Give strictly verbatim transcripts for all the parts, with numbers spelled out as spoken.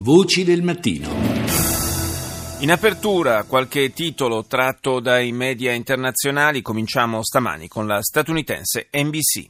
Voci del mattino. In apertura qualche titolo tratto dai media internazionali. Cominciamo stamani con la statunitense N B C.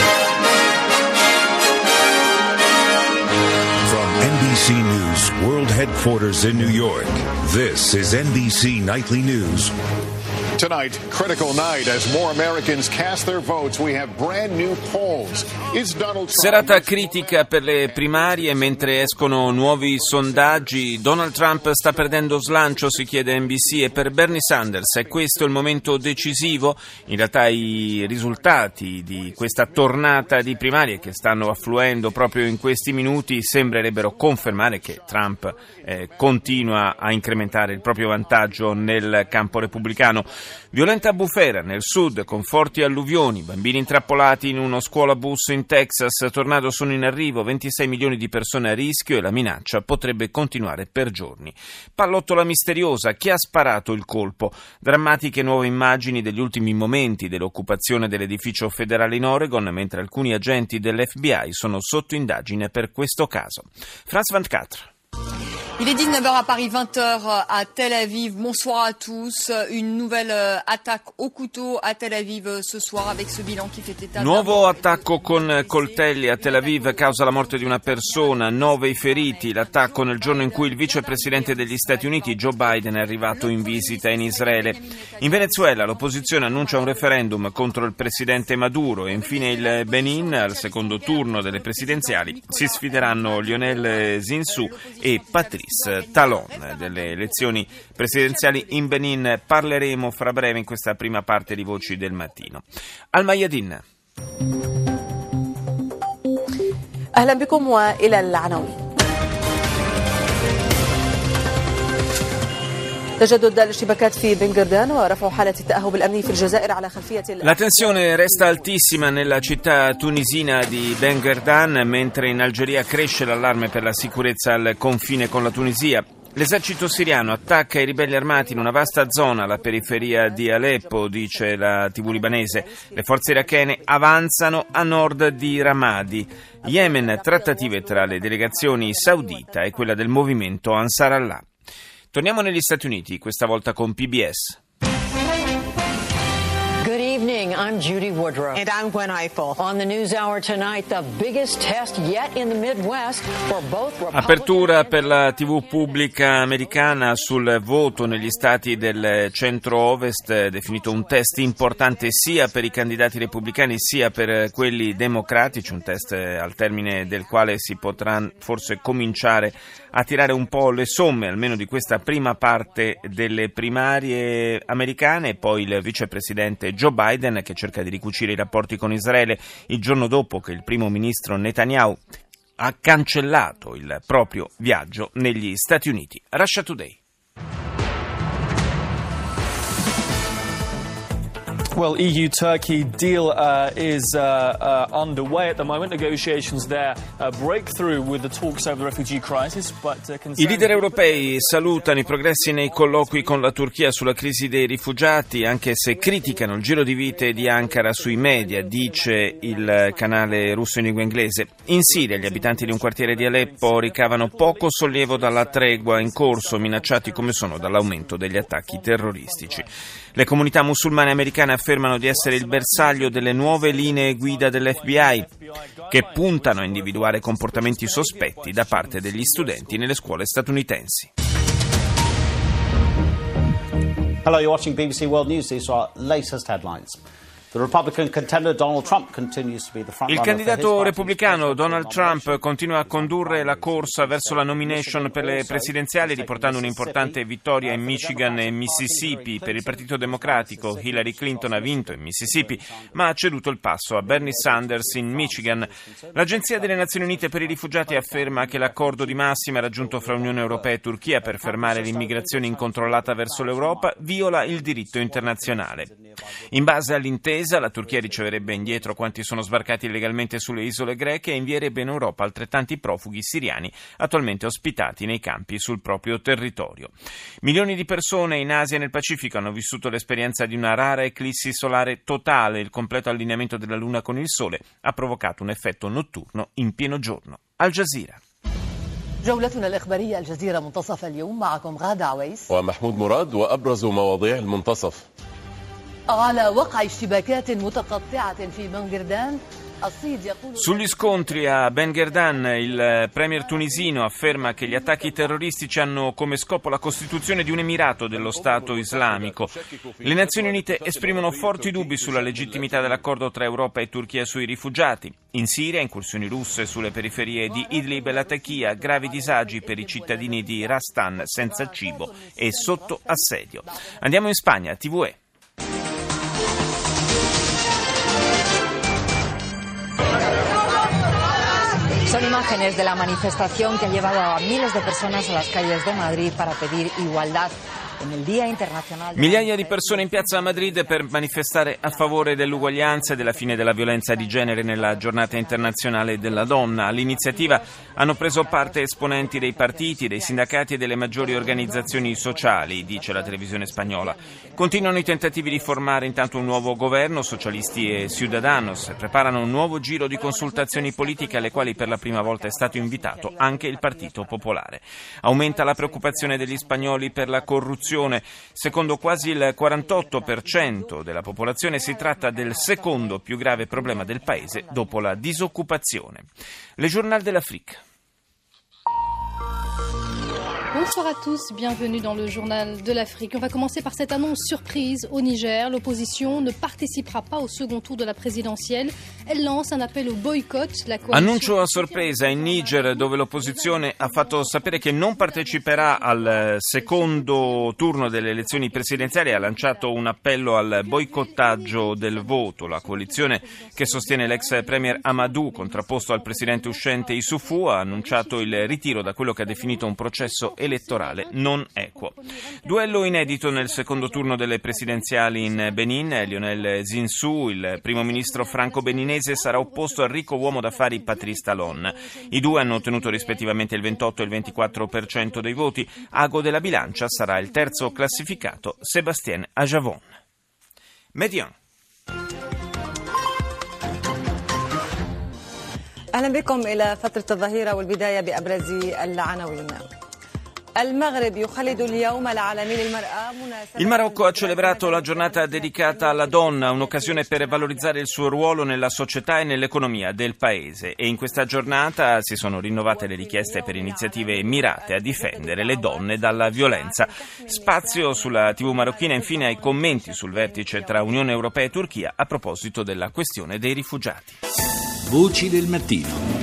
From N B C News World Headquarters in New York, this is N B C Nightly News. Tonight, critical night as more Americans cast their votes. We have brand new polls. Is Donald Trump... Serata critica per le primarie mentre escono nuovi sondaggi. Donald Trump sta perdendo slancio, si chiede N B C, e per Bernie Sanders è questo il momento decisivo? In realtà i risultati di questa tornata di primarie che stanno affluendo proprio in questi minuti sembrerebbero confermare che Trump eh, continua a incrementare il proprio vantaggio nel campo repubblicano. Violenta bufera nel sud con forti alluvioni, bambini intrappolati in uno scuolabus in Texas, tornado sono in arrivo, ventisei milioni di persone a rischio e la minaccia potrebbe continuare per giorni. Pallottola misteriosa, chi ha sparato il colpo? Drammatiche nuove immagini degli ultimi momenti dell'occupazione dell'edificio federale in Oregon, mentre alcuni agenti dell'F B I sono sotto indagine per questo caso. France ventiquattro. Il est dix-neuf heures à Paris, vingt heures à Tel Aviv. Bonsoir à tous. Une nouvelle attaque au couteau à Tel Aviv ce soir avec ce bilan qui fait état. Nuovo attacco con coltelli a Tel Aviv causa la morte di una persona, nove i feriti. L'attacco nel giorno in cui il vicepresidente degli Stati Uniti Joe Biden è arrivato in visita in Israele. In Venezuela l'opposizione annuncia un referendum contro il presidente Maduro e infine il Benin al secondo turno delle presidenziali si sfideranno Lionel Zinsou e Patrice Talon. Delle elezioni presidenziali in Benin parleremo fra breve in questa prima parte di Voci del Mattino. Al Mayadin. أهلا بكم وإلى العناوين. La tensione resta altissima nella città tunisina di Bengherdan, mentre in Algeria cresce l'allarme per la sicurezza al confine con la Tunisia. L'esercito siriano attacca i ribelli armati in una vasta zona alla periferia di Aleppo, dice la tivù libanese. Le forze irachene avanzano a nord di Ramadi. Yemen, trattative tra le delegazioni saudita e quella del movimento Ansar Allah. Torniamo negli Stati Uniti, questa volta con P B S. Good evening, I'm Judy Woodruff. And I'm Gwen Eiffel. On the News Hour tonight, the biggest test yet in the Midwest for both Republicans. Apertura per la tivù pubblica americana sul voto negli stati del centro-ovest, definito un test importante sia per i candidati repubblicani sia per quelli democratici, un test al termine del quale si potrà forse cominciare a tirare un po' le somme, almeno di questa prima parte delle primarie americane, e poi il vicepresidente Joe Biden che cerca di ricucire i rapporti con Israele il giorno dopo che il primo ministro Netanyahu ha cancellato il proprio viaggio negli Stati Uniti. Russia Today. Well, E U-Turkey deal uh, is uh, uh, underway at the moment. Negotiations there uh, break through with the talks over the refugee crisis, but uh, I leader europei salutano i progressi nei colloqui con la Turchia sulla crisi dei rifugiati, anche se criticano il giro di vite di Ankara sui media, dice il canale russo in lingua inglese. In Siria gli abitanti di un quartiere di Aleppo ricavano poco sollievo dalla tregua in corso, minacciati come sono dall'aumento degli attacchi terroristici. Le comunità musulmane americane affermano di essere il bersaglio delle nuove linee guida dell'F B I, che puntano a individuare comportamenti sospetti da parte degli studenti nelle scuole statunitensi. Hello, you're watching B B C World News. These are our latest headlines. The Republican contender Donald Trump continues to be the front Il runner candidato for his repubblicano Donald Trump continua a condurre la corsa verso la nomination per le presidenziali, riportando un'importante vittoria in Michigan e Mississippi. Per il Partito Democratico Hillary Clinton ha vinto in Mississippi, ma ha ceduto il passo a Bernie Sanders in Michigan. L'Agenzia delle Nazioni Unite per i rifugiati afferma che l'accordo di massima raggiunto fra Unione Europea e Turchia per fermare l'immigrazione incontrollata verso l'Europa viola il diritto internazionale. In base all'intesa, la Turchia riceverebbe indietro quanti sono sbarcati illegalmente sulle isole greche e invierebbe in Europa altrettanti profughi siriani attualmente ospitati nei campi sul proprio territorio. Milioni di persone in Asia e nel Pacifico hanno vissuto l'esperienza di una rara eclissi solare totale. Il completo allineamento della Luna con il Sole ha provocato un effetto notturno in pieno giorno. Al Jazeera. جولتنا الإخبارية الجزيرة منتصف اليوم معكم غادة عويس ومحمود مراد وأبرز مواضيع المنتصف. على وقع اشتباكات متقطعة في بنغردان. Sugli scontri a Ben Gherdan, il premier tunisino afferma che gli attacchi terroristici hanno come scopo la costituzione di un emirato dello Stato islamico. Le Nazioni Unite esprimono forti dubbi sulla legittimità dell'accordo tra Europa e Turchia sui rifugiati. In Siria, incursioni russe sulle periferie di Idlib e Latakia, gravi disagi per i cittadini di Rastan senza cibo e sotto assedio. Andiamo in Spagna, T V E. Son imágenes de la manifestación que ha llevado a miles de personas a las calles de Madrid para pedir igualdad. Migliaia di persone in piazza a Madrid per manifestare a favore dell'uguaglianza e della fine della violenza di genere nella giornata internazionale della donna. All'iniziativa hanno preso parte esponenti dei partiti, dei sindacati e delle maggiori organizzazioni sociali, dice la televisione spagnola. Continuano i tentativi di formare intanto un nuovo governo, socialisti e Ciudadanos preparano un nuovo giro di consultazioni politiche alle quali per la prima volta è stato invitato anche il Partito Popolare. Aumenta la preoccupazione degli spagnoli per la corruzione. Secondo quasi il quarantotto per cento della popolazione si tratta del secondo più grave problema del paese dopo la disoccupazione. Le Journal de l'Afrique. Bonsoir à tous, bienvenue dans le journal de l'Afrique. On va commencer par cette annonce surprise au Niger. L'opposition ne participera pas au second tour de la présidentielle. Elle lance un appel au boycott. La coalition... Annuncio a sorpresa in Niger, dove l'opposizione ha fatto sapere che non parteciperà al secondo turno delle elezioni presidenziali e ha lanciato un appello al boicottaggio del voto. La coalizione che sostiene l'ex premier Amadou, contrapposto al presidente uscente Issoufou, ha annunciato il ritiro da quello che ha definito un processo elettorale non equo. Duello inedito nel secondo turno delle presidenziali in Benin. Lionel Zinsou, il primo ministro franco-beninese, sarà opposto al ricco uomo d'affari Patrice Talon. I due hanno ottenuto rispettivamente il ventotto e il ventiquattro per cento dei voti. Ago della bilancia sarà il terzo classificato, Sébastien Ajavon. Median. أهلا بكم إلى فترة الظهيرة والبداية بأبرز العناوين. Il Marocco ha celebrato la giornata dedicata alla donna, un'occasione per valorizzare il suo ruolo nella società e nell'economia del paese, e in questa giornata si sono rinnovate le richieste per iniziative mirate a difendere le donne dalla violenza. Spazio sulla tivù marocchina infine ai commenti sul vertice tra Unione Europea e Turchia a proposito della questione dei rifugiati. Voci del mattino.